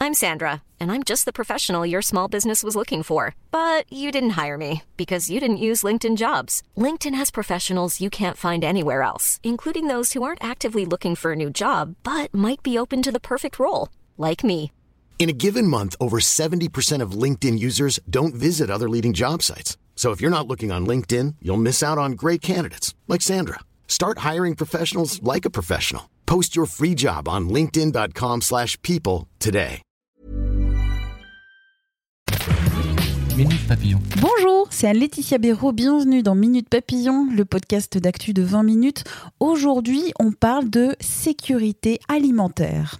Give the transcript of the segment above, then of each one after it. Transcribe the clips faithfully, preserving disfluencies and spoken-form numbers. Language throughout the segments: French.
I'm Sandra, and I'm just the professional your small business was looking for. But you didn't hire me because you didn't use LinkedIn Jobs. LinkedIn has professionals you can't find anywhere else, including those who aren't actively looking for a new job, but might be open to the perfect role, like me. In a given month, over seventy percent of LinkedIn users don't visit other leading job sites. So if you're not looking on LinkedIn, you'll miss out on great candidates like Sandra. Start hiring professionals like a professional. Post your free job on linkedin.com slash people today. Minute Papillon. Bonjour, c'est Anne-Laetitia Béraud. Bienvenue dans Minute Papillon, le podcast d'actu de vingt minutes. Aujourd'hui, on parle de sécurité alimentaire.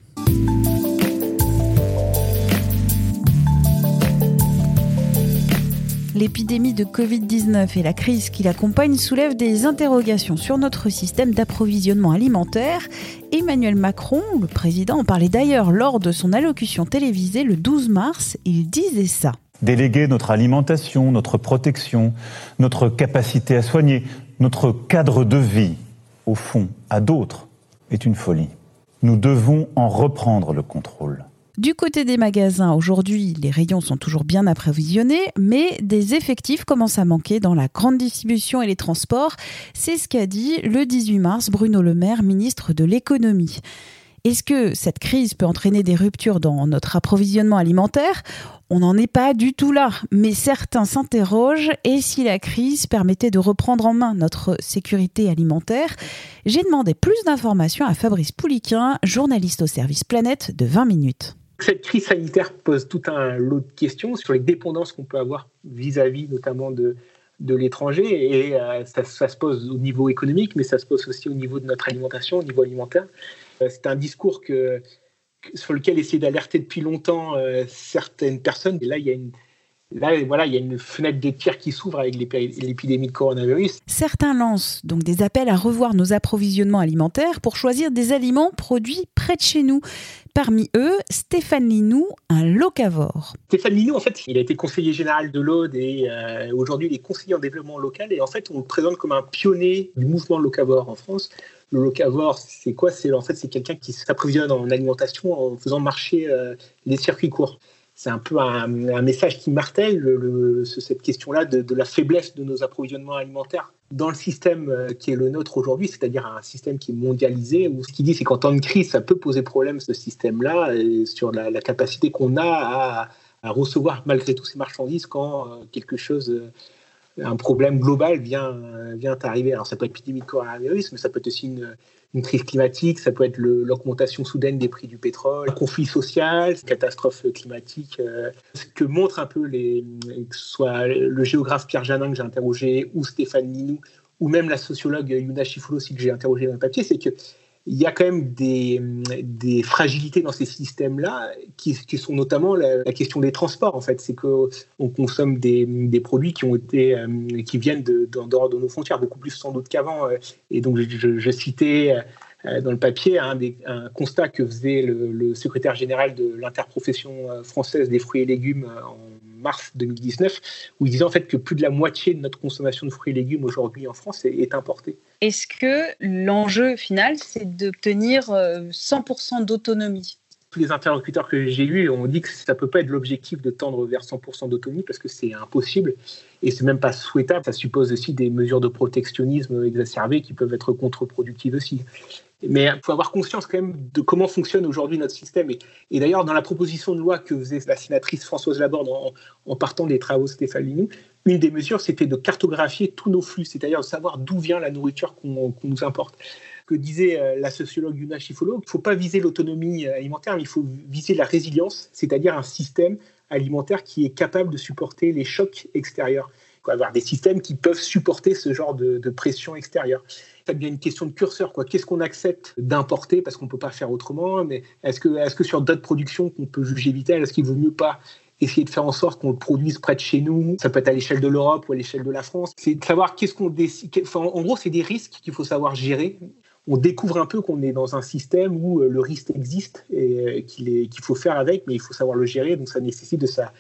L'épidémie de covid dix-neuf et la crise qui l'accompagne soulèvent des interrogations sur notre système d'approvisionnement alimentaire. Emmanuel Macron, le président, en parlait d'ailleurs lors de son allocution télévisée le douze mars. Il disait ça. Déléguer notre alimentation, notre protection, notre capacité à soigner, notre cadre de vie, au fond, à d'autres, est une folie. Nous devons en reprendre le contrôle. Du côté des magasins, aujourd'hui, les rayons sont toujours bien approvisionnés, mais des effectifs commencent à manquer dans la grande distribution et les transports. C'est ce qu'a dit le dix-huit mars Bruno Le Maire, ministre de l'économie. Est-ce que cette crise peut entraîner des ruptures dans notre approvisionnement alimentaire ? On n'en est pas du tout là, mais certains s'interrogent. Et si la crise permettait de reprendre en main notre sécurité alimentaire ? J'ai demandé plus d'informations à Fabrice Pouliquin, journaliste au service Planète de vingt minutes. Cette crise sanitaire pose tout un lot de questions sur les dépendances qu'on peut avoir vis-à-vis notamment de, de l'étranger. Et euh, ça, ça se pose au niveau économique, mais ça se pose aussi au niveau de notre alimentation, au niveau alimentaire. Euh, c'est un discours que, que, sur lequel essayer d'alerter depuis longtemps euh, certaines personnes. Et là, il y a une... Là, voilà, il y a une fenêtre de tir qui s'ouvre avec l'épidémie de coronavirus. Certains lancent donc des appels à revoir nos approvisionnements alimentaires pour choisir des aliments produits près de chez nous. Parmi eux, Stéphane Linou, un locavore. Stéphane Linou, en fait, il a été conseiller général de l'Aude et euh, aujourd'hui, il est conseiller en développement local. Et en fait, on le présente comme un pionnier du mouvement locavore en France. Le locavore, c'est quoi ? C'est, en fait, c'est quelqu'un qui s'approvisionne en alimentation en faisant marcher euh, les circuits courts. C'est un peu un, un message qui martèle le, le, cette question-là de, de la faiblesse de nos approvisionnements alimentaires dans le système qui est le nôtre aujourd'hui, c'est-à-dire un système qui est mondialisé, où ce qu'il dit, c'est qu'en temps de crise, ça peut poser problème, ce système-là, et sur la, la capacité qu'on a à, à recevoir malgré tout ces marchandises quand euh, quelque chose... Euh, un problème global vient, vient arriver. Alors ça peut être l'épidémie de coronavirus, mais ça peut être aussi une, une crise climatique, ça peut être le, l'augmentation soudaine des prix du pétrole, un conflit social, une catastrophe climatique. Euh, ce que montrent un peu les, que ce soit le géographe Pierre Janin que j'ai interrogé, ou Stéphane Linou, ou même la sociologue Yuna Chifoulou aussi que j'ai interrogé dans le papier, c'est que il y a quand même des, des fragilités dans ces systèmes-là qui, qui sont notamment la, la question des transports. En fait, c'est qu'on consomme des, des produits qui ont été, qui viennent de, de, dehors de nos frontières, beaucoup plus sans doute qu'avant. Et donc, je, je citais dans le papier un, des, un constat que faisait le, le secrétaire général de l'interprofession française des fruits et légumes en mars deux mille dix-neuf, où il disait en fait que plus de la moitié de notre consommation de fruits et légumes aujourd'hui en France est, est importée. Est-ce que l'enjeu final, c'est d'obtenir cent pour cent d'autonomie ? Tous les interlocuteurs que j'ai eus ont dit que ça ne peut pas être l'objectif de tendre vers cent pour cent d'autonomie parce que c'est impossible et ce n'est même pas souhaitable. Ça suppose aussi des mesures de protectionnisme exacerbées qui peuvent être contre-productives aussi. Mais il faut avoir conscience quand même de comment fonctionne aujourd'hui notre système. Et, et d'ailleurs, dans la proposition de loi que faisait la sénatrice Françoise Laborde en, en partant des travaux de Stéphane Linou, une des mesures, c'était de cartographier tous nos flux, c'est-à-dire de savoir d'où vient la nourriture qu'on, qu'on nous importe. Que disait euh, la sociologue Yuna Chifoulou, il ne faut pas viser l'autonomie alimentaire, mais il faut viser la résilience, c'est-à-dire un système alimentaire qui est capable de supporter les chocs extérieurs. Il faut avoir des systèmes qui peuvent supporter ce genre de, de pression extérieure. Ça devient une question de curseur, quoi. Qu'est-ce qu'on accepte d'importer parce qu'on ne peut pas faire autrement, mais est-ce que, est-ce que sur d'autres productions qu'on peut juger vitales, est-ce qu'il ne vaut mieux pas essayer de faire en sorte qu'on le produise près de chez nous ? Ça peut être à l'échelle de l'Europe ou à l'échelle de la France. C'est de savoir qu'est-ce qu'on décide. Enfin, en gros, c'est des risques qu'il faut savoir gérer. On découvre un peu qu'on est dans un système où le risque existe et qu'il, est, qu'il faut faire avec, mais il faut savoir le gérer. Donc, ça nécessite de sa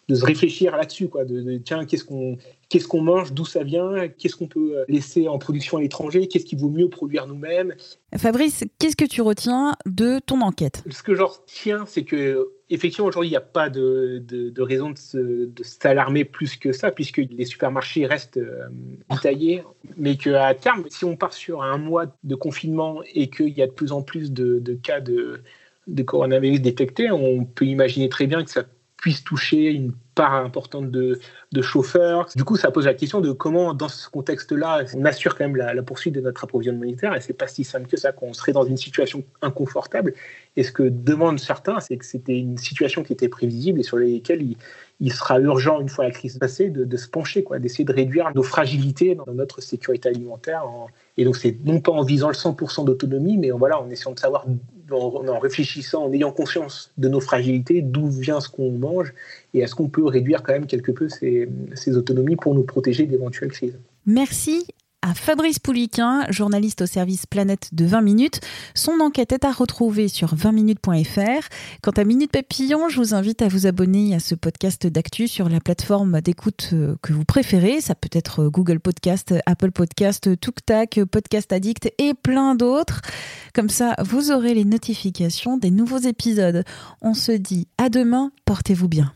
de se réfléchir là-dessus, quoi, de, de tiens, qu'est-ce qu'on, qu'est-ce qu'on mange, d'où ça vient, qu'est-ce qu'on peut laisser en production à l'étranger, qu'est-ce qu'il vaut mieux produire nous-mêmes. Fabrice, qu'est-ce que tu retiens de ton enquête ? Ce que je retiens, c'est que effectivement, aujourd'hui, il n'y a pas de, de, de raison de, se, de s'alarmer plus que ça, puisque les supermarchés restent euh, détaillés, mais qu'à terme, si on part sur un mois de confinement et qu'il y a de plus en plus de, de cas de, de coronavirus détectés, on peut imaginer très bien que ça puisse toucher une part importante de, de chauffeurs. Du coup, ça pose la question de comment, dans ce contexte-là, on assure quand même la, la poursuite de notre approvisionnement humanitaire. Et c'est pas si simple que ça, qu'on serait dans une situation inconfortable. Et ce que demandent certains, c'est que c'était une situation qui était prévisible et sur laquelle il, il sera urgent, une fois la crise passée, de, de se pencher, quoi, d'essayer de réduire nos fragilités dans notre sécurité alimentaire. En, et donc, c'est non pas en visant le cent pour cent d'autonomie, mais en, voilà, en essayant de savoir, en, en réfléchissant, en ayant conscience de nos fragilités, d'où vient ce qu'on mange et est-ce qu'on peut réduire quand même quelque peu ces, ces autonomies pour nous protéger d'éventuelles crises. Merci à Fabrice Pouliquen, journaliste au service Planète de vingt minutes. Son enquête est à retrouver sur vingt minutes point f r. Quant à Minute Papillon, je vous invite à vous abonner à ce podcast d'actu sur la plateforme d'écoute que vous préférez. Ça peut être Google Podcast, Apple Podcast, TukTak, Podcast Addict et plein d'autres. Comme ça, vous aurez les notifications des nouveaux épisodes. On se dit à demain, portez-vous bien.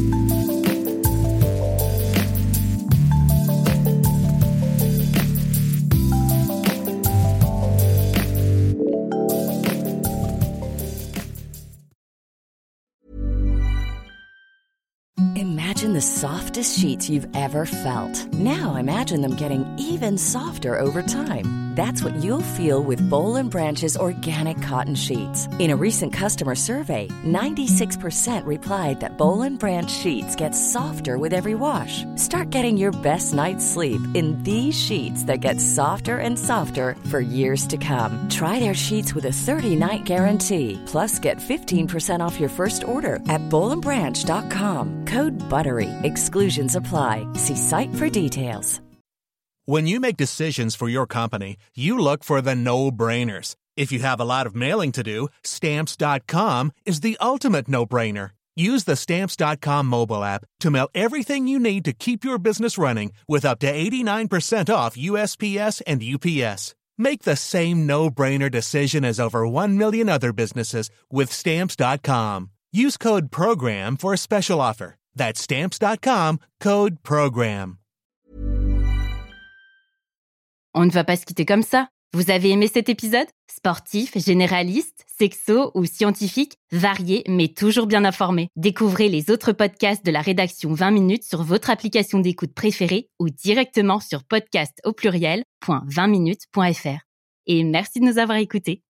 Imagine the softest sheets you've ever felt. Now imagine them getting even softer over time. That's what you'll feel with Boll and Branch's organic cotton sheets. In a recent customer survey, ninety-six percent replied that Boll and Branch sheets get softer with every wash. Start getting your best night's sleep in these sheets that get softer and softer for years to come. Try their sheets with a thirty-night guarantee. Plus, get fifteen percent off your first order at boll and branch dot com. Code BUTTERY. Exclusions apply. See site for details. When you make decisions for your company, you look for the no-brainers. If you have a lot of mailing to do, Stamps dot com is the ultimate no-brainer. Use the Stamps dot com mobile app to mail everything you need to keep your business running with up to eighty-nine percent off U S P S and U P S. Make the same no-brainer decision as over one million other businesses with Stamps dot com. Use code PROGRAM for a special offer. That's Stamps dot com, code PROGRAM. On ne va pas se quitter comme ça. Vous avez aimé cet épisode ? Sportif, généraliste, sexo ou scientifique, varié mais toujours bien informé. Découvrez les autres podcasts de la rédaction vingt minutes sur votre application d'écoute préférée ou directement sur podcast au pluriel point vingt minutes point f r. Et merci de nous avoir écoutés.